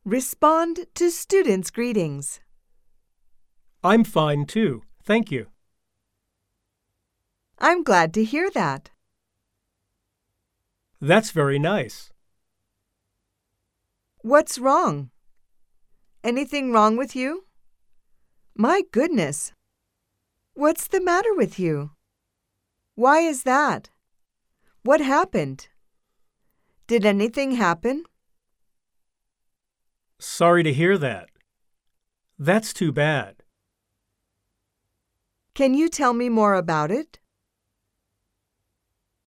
Respond to students' greetings. I'm fine too, thank you. I'm glad to hear that. That's very nice. What's wrong? Anything wrong with you? My goodness! What's the matter with you? Why is that? What happened? Did anything happen? Sorry to hear that. That's too bad. Can you tell me more about it?